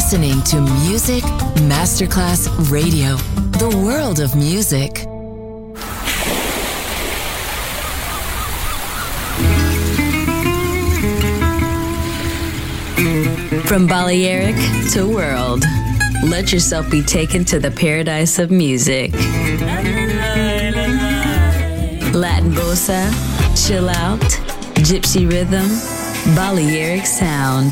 listening to Music Masterclass Radio, the world of music. From Balearic to world, let yourself be taken to the paradise of music. Latin bossa, chill out, gypsy rhythm, Balearic sound,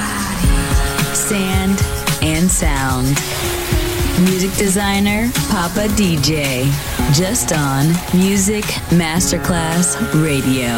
sand and sound. Music designer, Papa DJ, just on Music Masterclass Radio.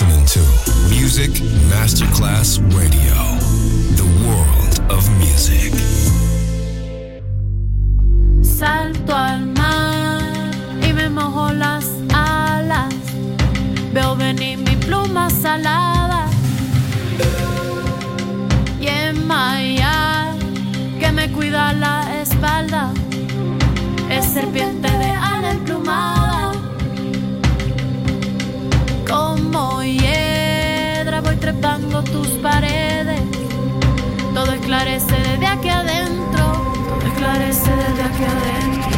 listening to Music Masterclass Radio, the world of music. Salto al mar y me mojo las alas. Veo venir mi pluma salada y en Maya que me cuida la espalda es serpiente de ala emplumada. Como hiedra voy trepando tus paredes. Todo esclarece desde aquí adentro. Todo esclarece desde aquí adentro.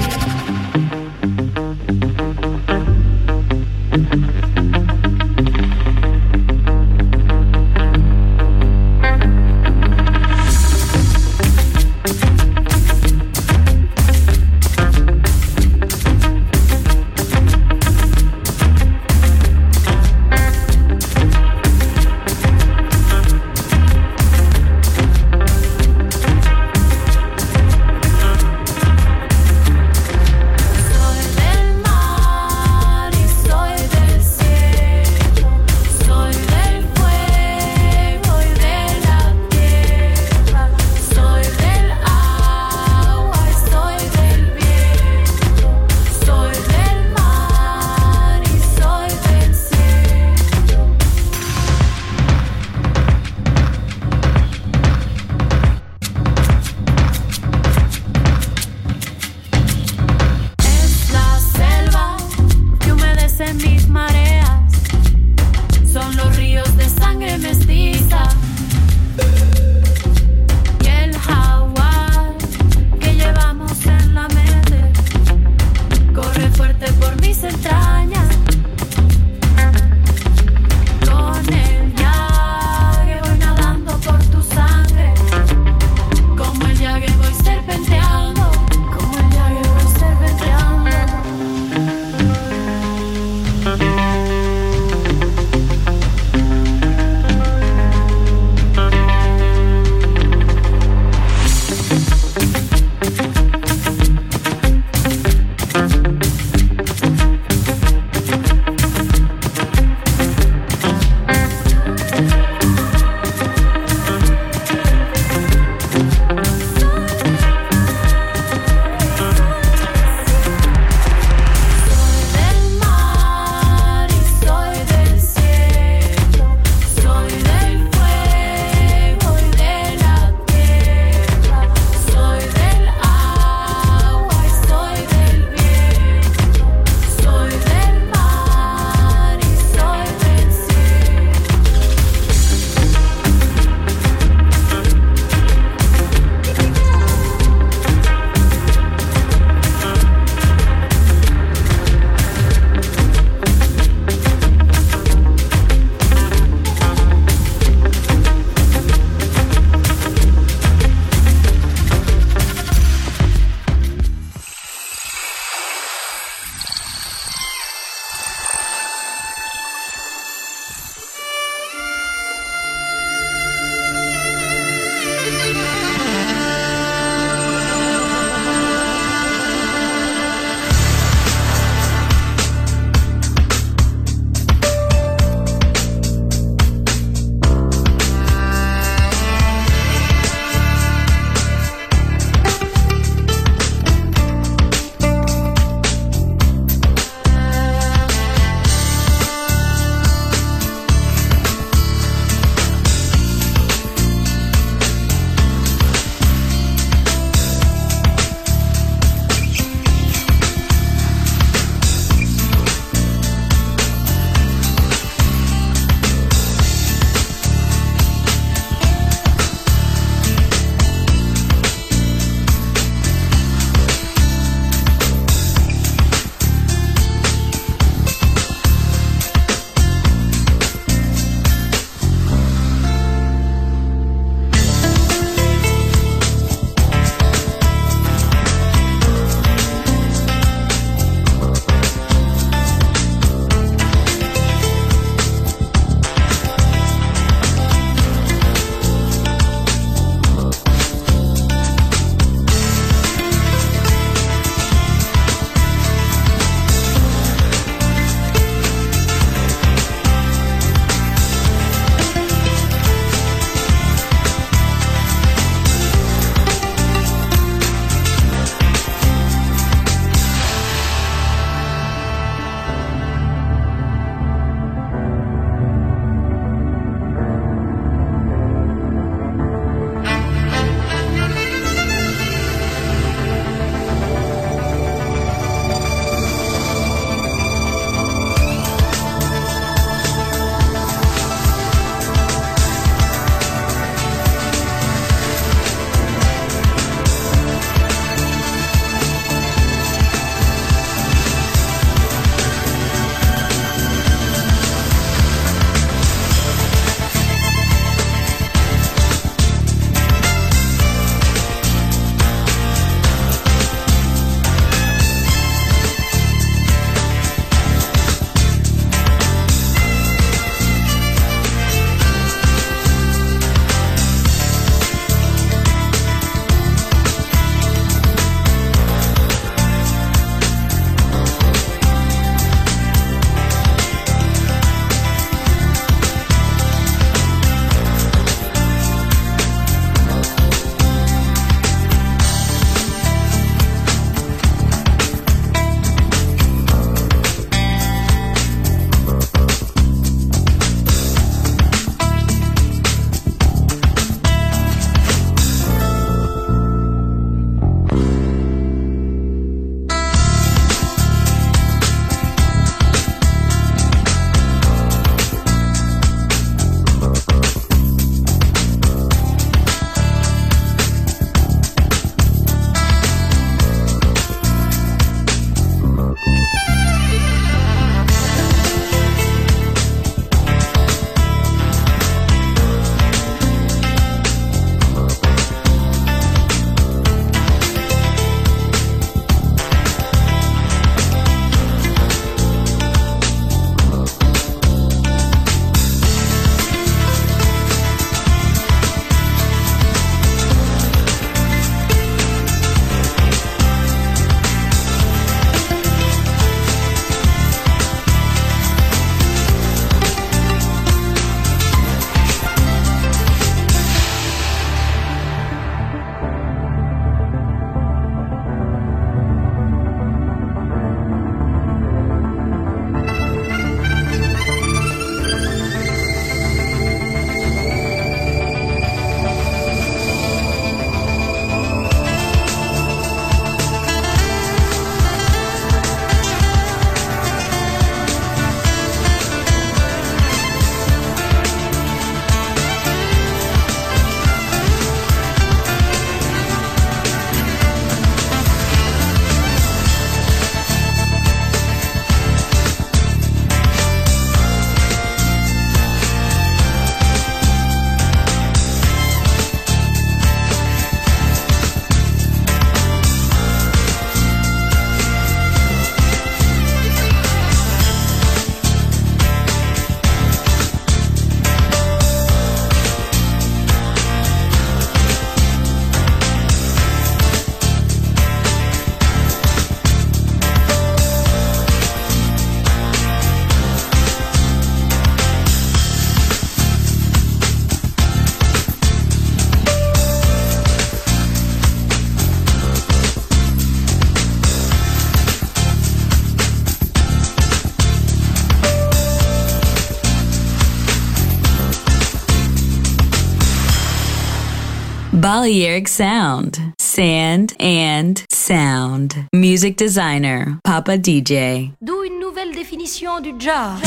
Balearic Sound. Sand and sound. Music designer, Papa DJ. D'où une nouvelle définition du jazz.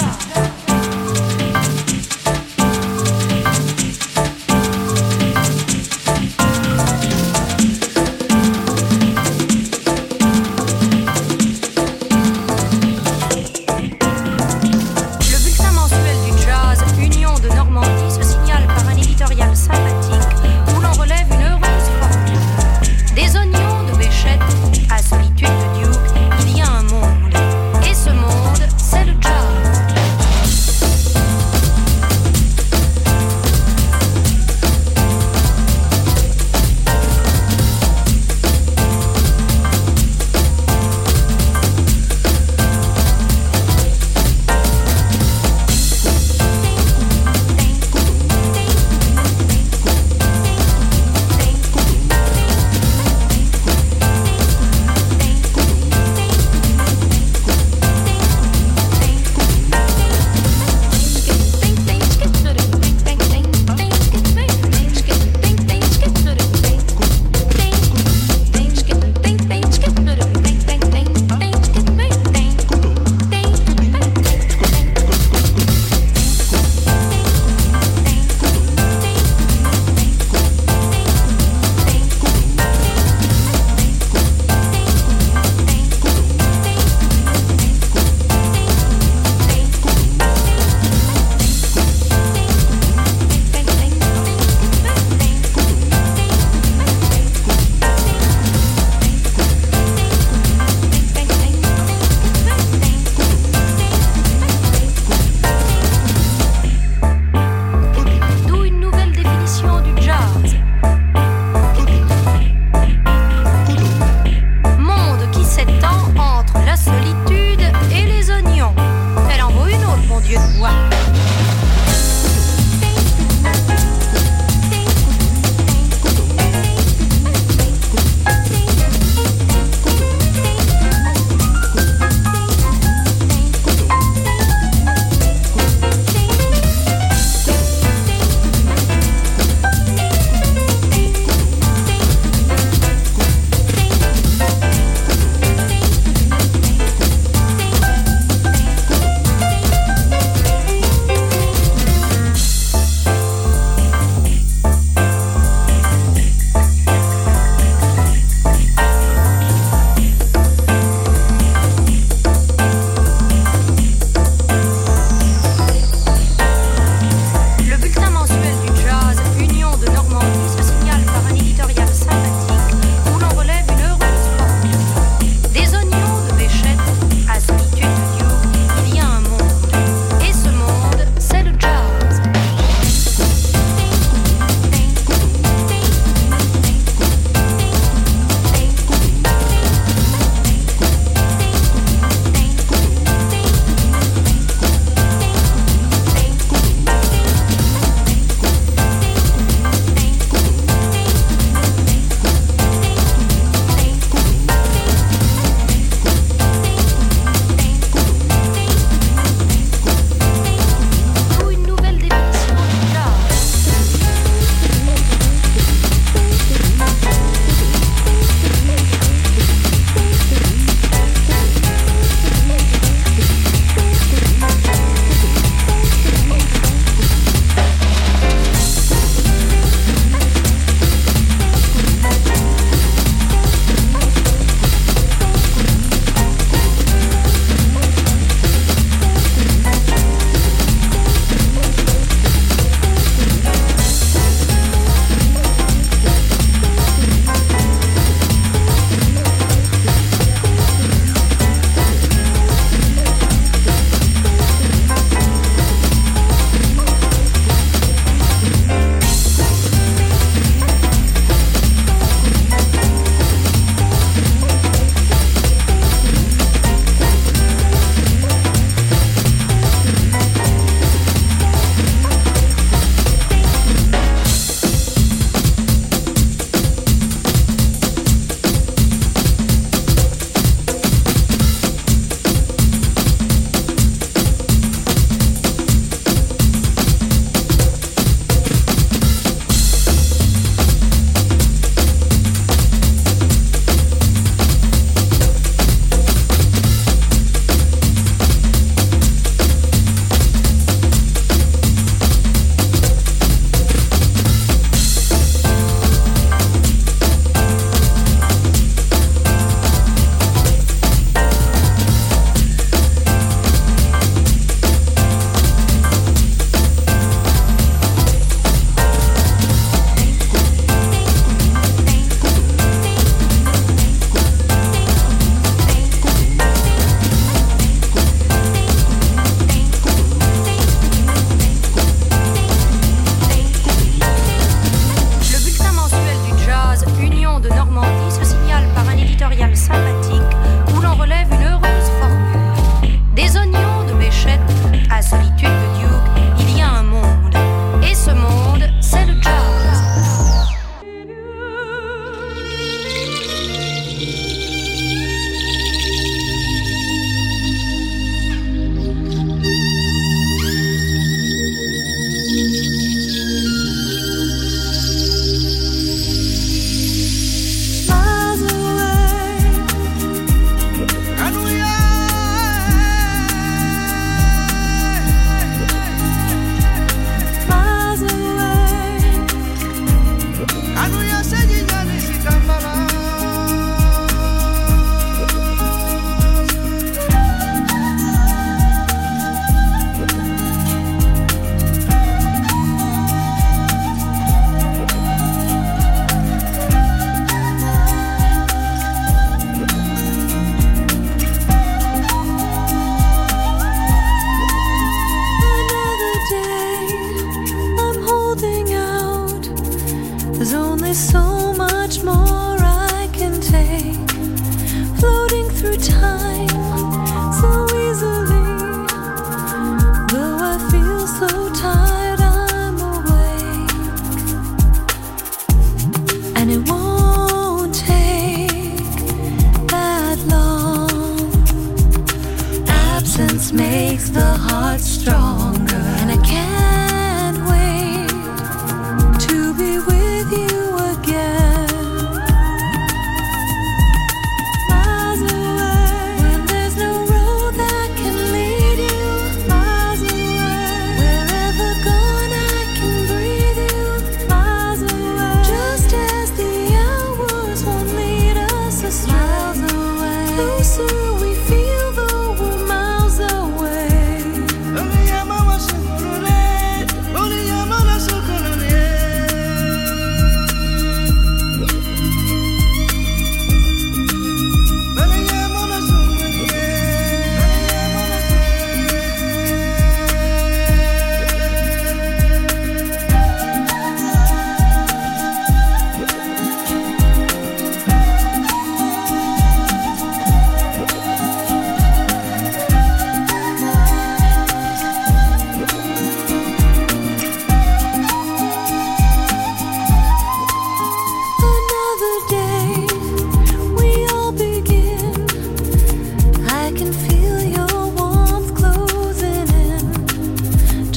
Solitude de Duke, il y a un monde, et ce monde, c'est le jazz.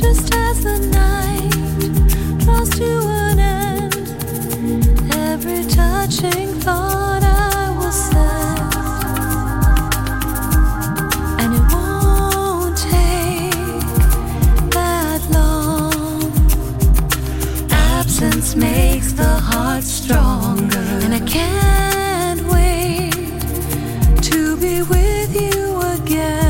Just as the night draws to an end, every touching thought I will send, and it won't take that long. Absence makes the heart stronger, and I can't wait to be with you again.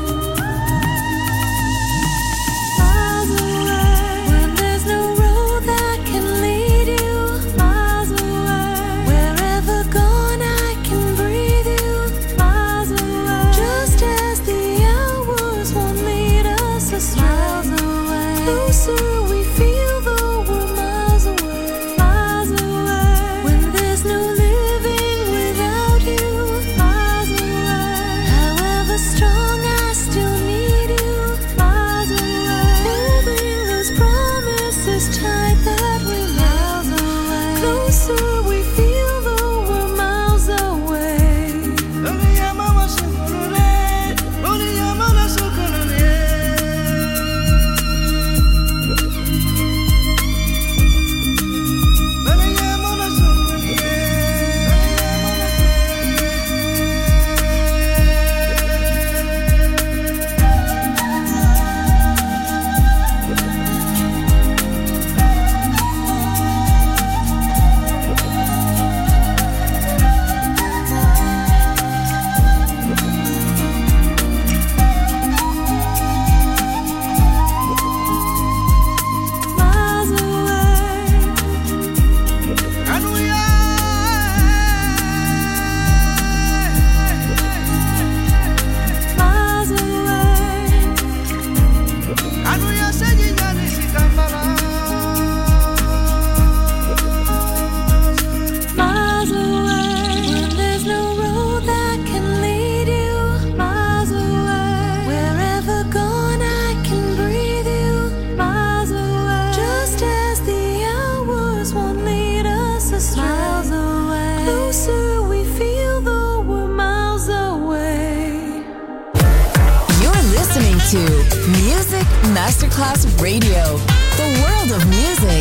Masterclass Radio, the world of music.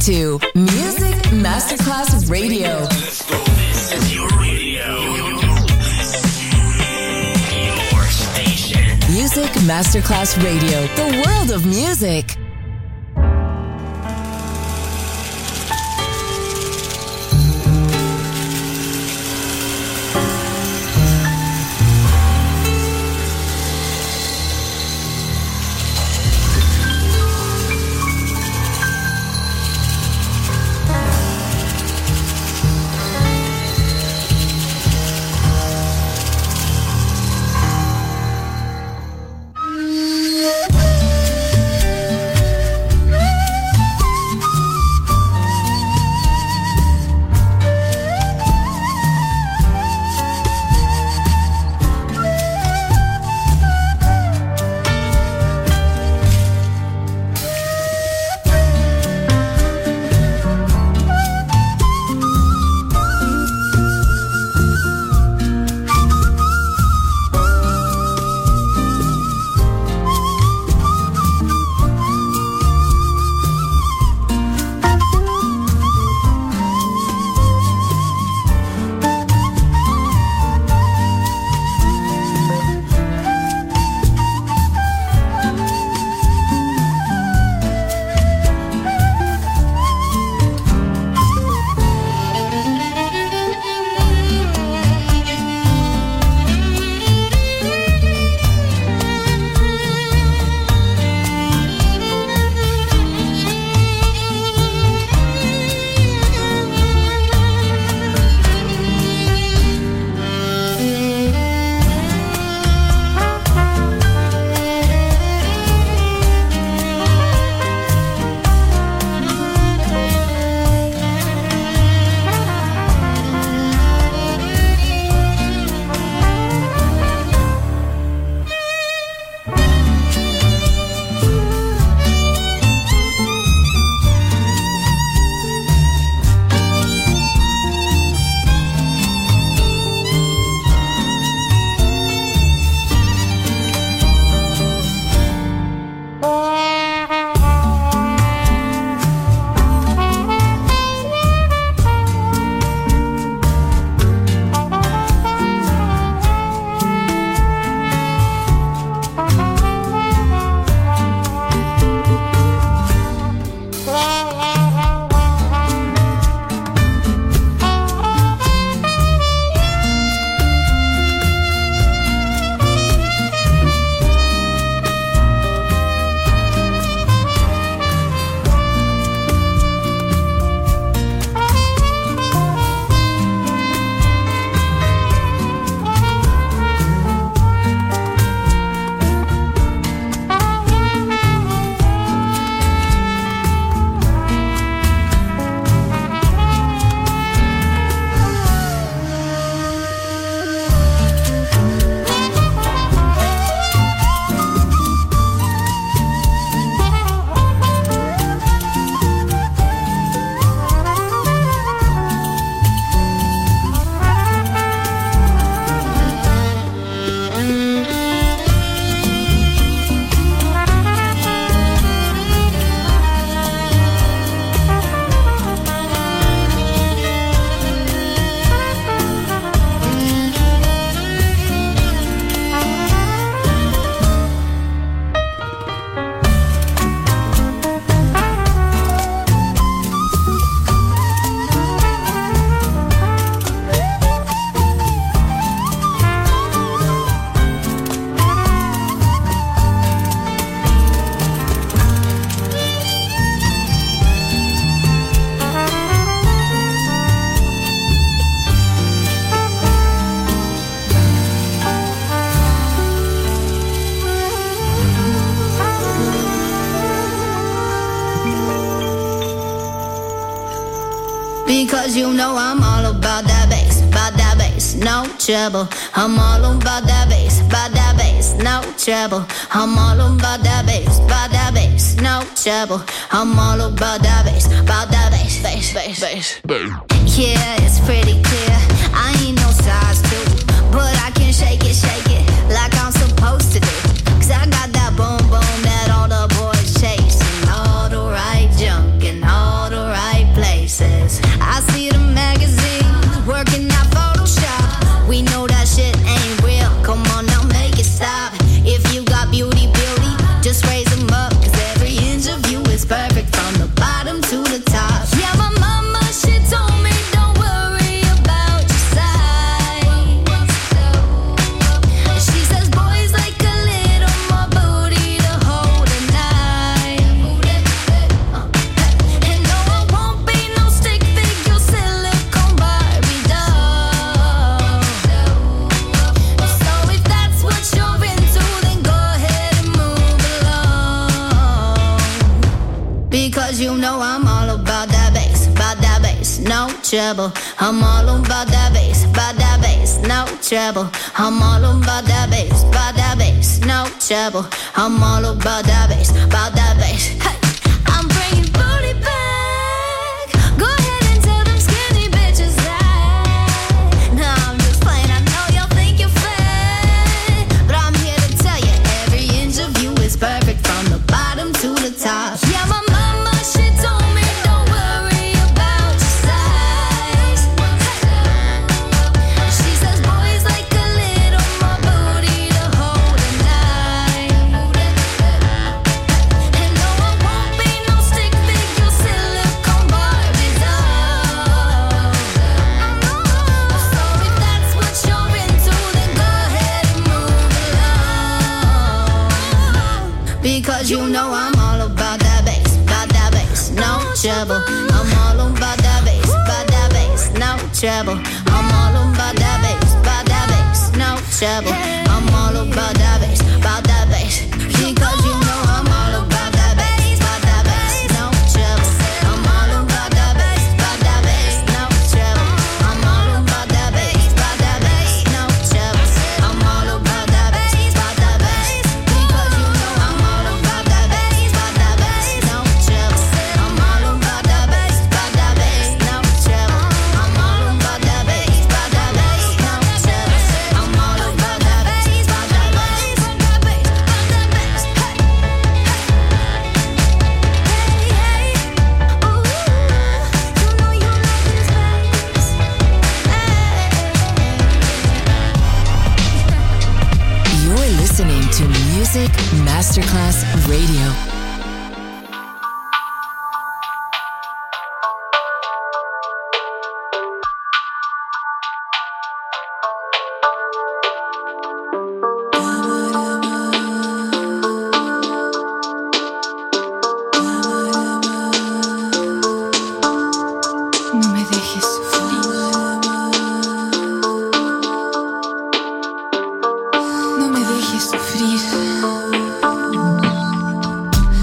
to Music Masterclass Radio. Let's go. This is your radio. Your station. Music Masterclass Radio. The world of music. Because you know I'm all about that bass, no trouble. I'm all about that bass, no trouble. I'm all about that bass, no trouble. I'm all about that bass, bass. Yeah, it's pretty clear. I ain't no size 2, but I can shake it like I'm supposed to do. 'Cause I got that boom boom that all the boys chase, and all the right junk and all the right places. I see the magazines working out Photoshop. We know that shit ain't real. Come on now, make it stop. If you got beauty, just raise them up. Cause every inch of you is perfect from the bottom to the top. Yeah, my mama, she told me don't worry about your size. She says boys like a little more booty to hold at night. And no, I won't be no stick figure silicone Barbie doll. So if that's what you're into, then go ahead and move along. Because you know I'm all about that bass, no trouble. I'm all about that bass, no trouble. I'm all about that bass, no trouble. I'm all about that bass, Hey, I'm bringing booty back. Go ahead and tell them skinny bitches that. No, I'm just playing. I know y'all think you're fat, but I'm here to tell you every inch of you is perfect from the bottom to the top. Yeah, my mama, she told me don't worry about your size. She says boys like a little more booty to hold at night. And no, I won't be no stick figure silicone Barbie doll. So if that's what you're into, then go ahead and move along. Because you know I'm all about that bass, no trouble. I'm all about that bass, no trouble. I'm all about that bass, no trouble. I'm all about that bass, because you know I'm all about that bass, no trouble. I'm all about that bass, no trouble. I'm all about that bass, no trouble. I'm all about that bass, because you know I'm all about that bass, no trouble. I'm all about that bass, no trouble. I'm all about that bass, no trouble. I'm all about that bass, You're listening to Music Masterclass Radio. No me dejes sufrir. No me dejes sufrir.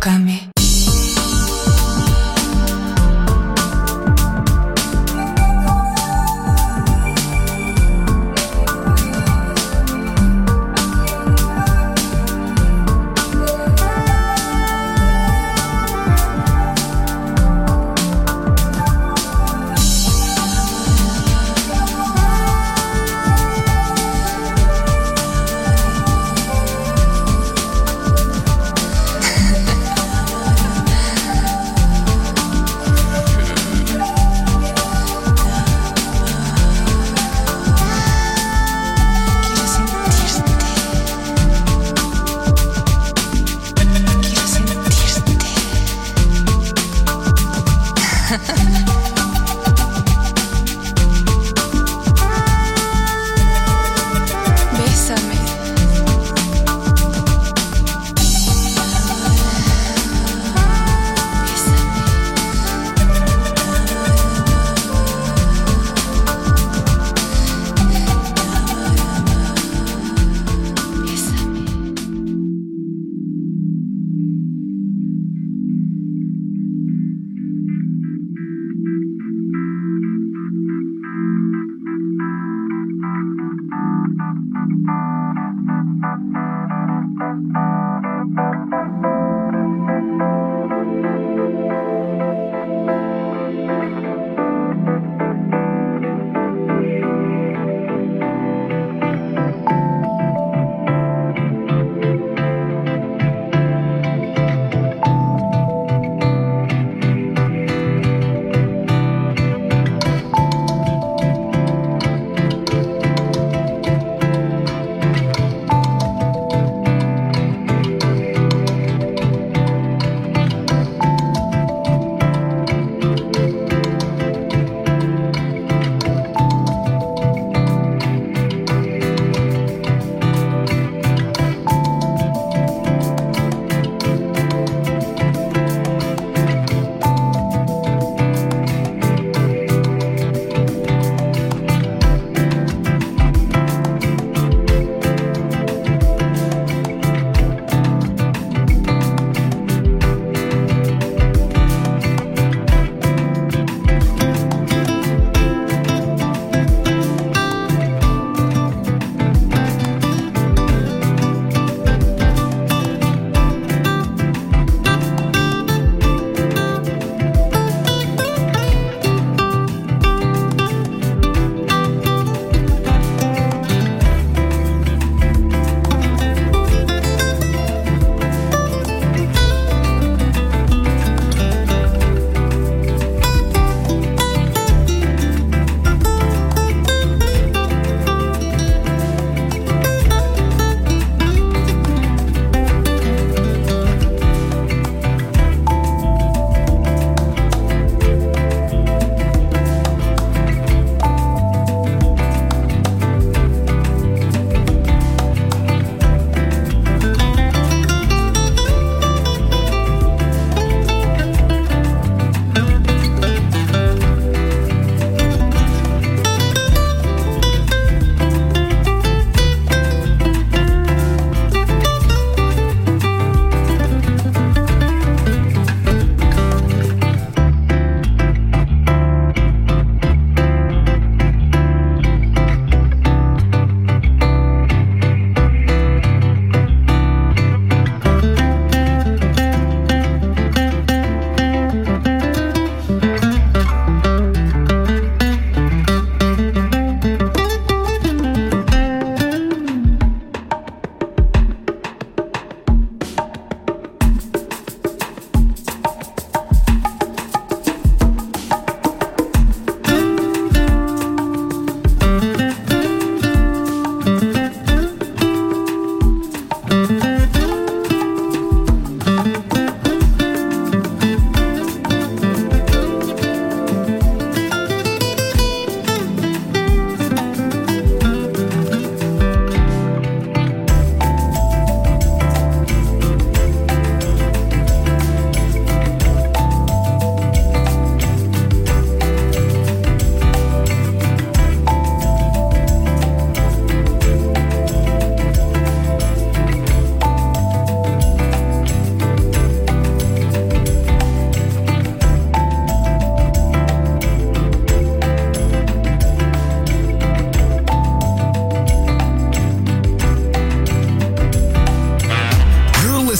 tócame.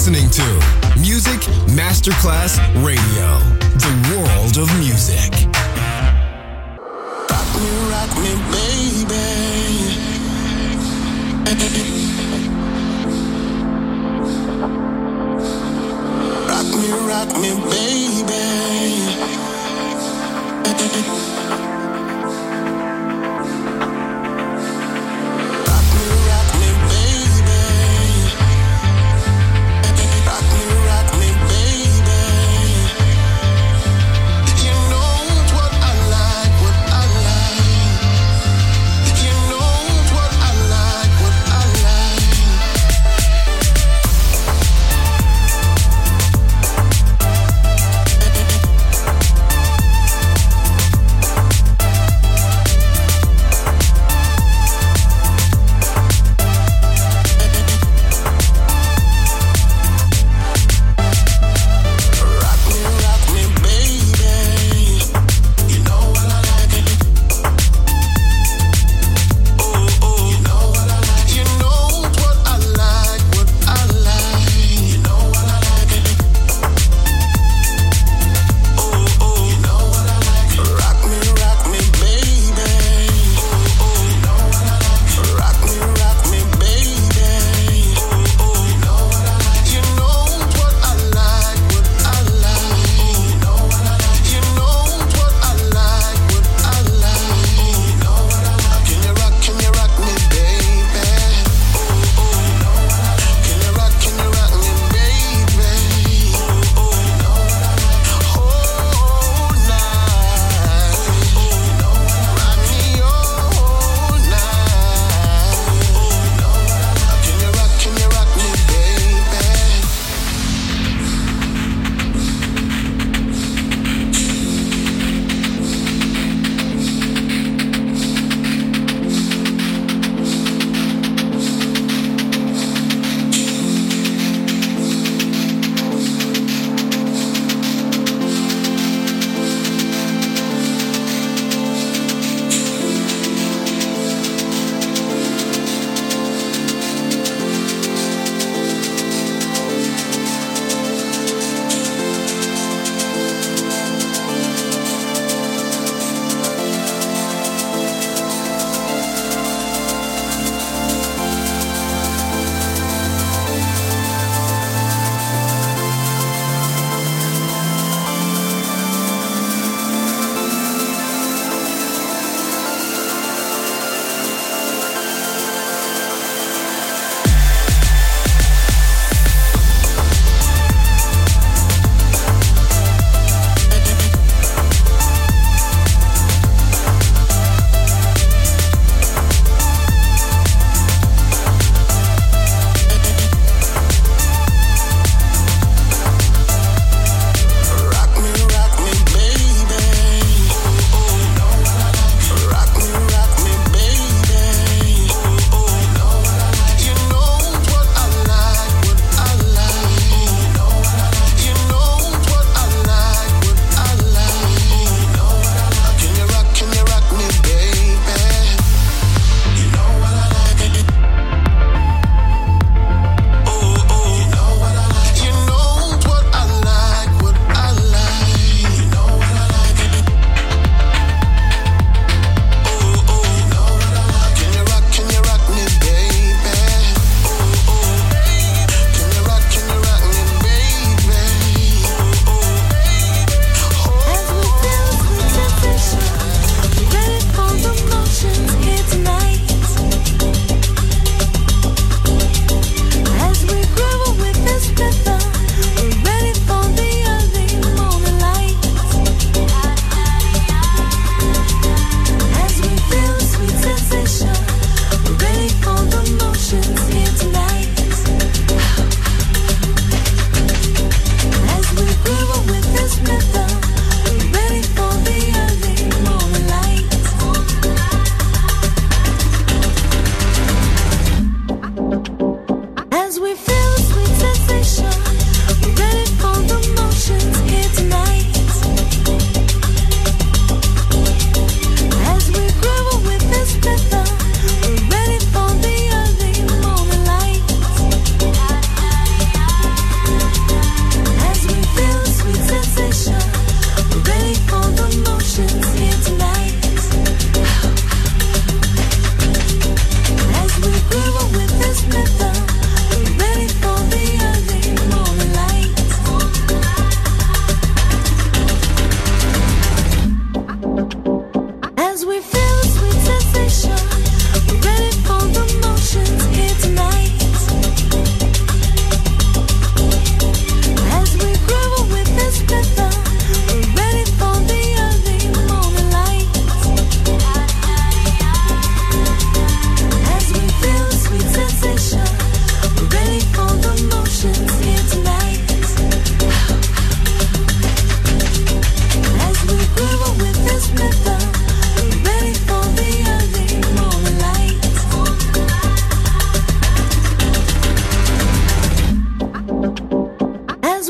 listening to Music Masterclass Radio, the world of music. Rock me, baby. Rock me, baby.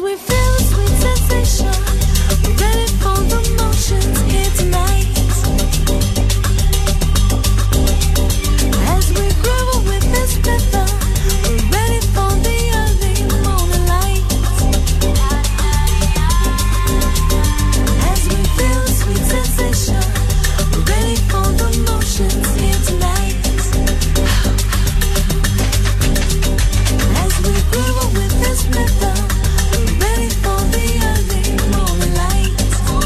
we feel a sweet sensation, we're ready for the motions here tonight. As we groove with this rhythm, we're ready for the early morning light. As we feel a sweet sensation, we're ready for the motions here tonight. As we groove with this rhythm, we're ready for the early morning light.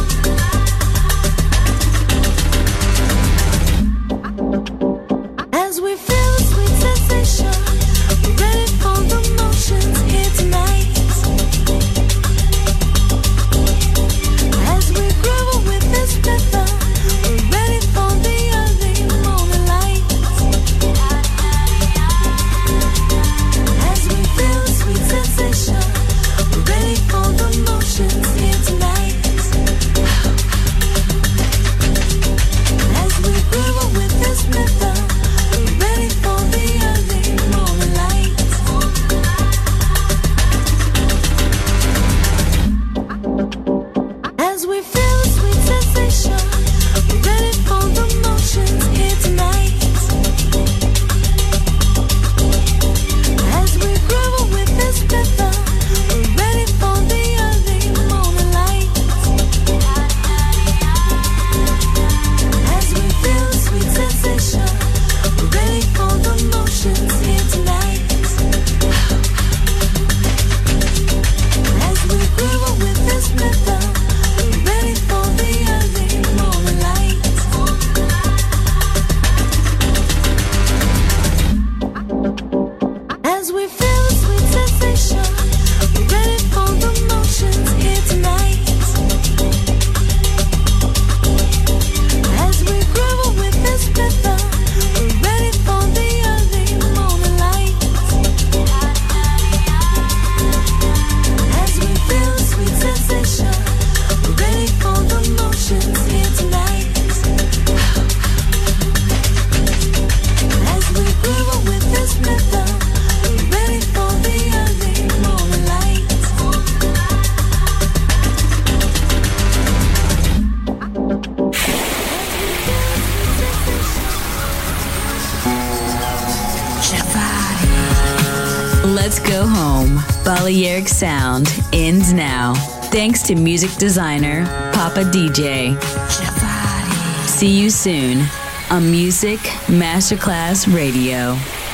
As we feel a sweet sensation, we're ready for the motions here tonight. As we groove with this rhythm, we're ready for the early morning light. As we feel a sweet sensation, we're ready for the motions here tonight. As we groove with this rhythm, we're ready for the early morning light. As we feel a sweet sensation, we're ready for the motions here tonight. As we groove with this rhythm, we're ready for the early morning light. As we feel a sweet sensation, we're ready for the motions here tonight. As we groove with this rhythm, we're ready for the early morning light. As we feel a sweet sensation, we're ready for the motions here tonight. As we groove with this rhythm, we're ready for the early morning light. As we feel a sweet sensation, we're ready for the motions here tonight. As we groove with this rhythm, we're ready for the early morning light. Let's go home. Balearic Sound ends now. Thanks to music designer Papa DJ. See you soon on Music Masterclass Radio.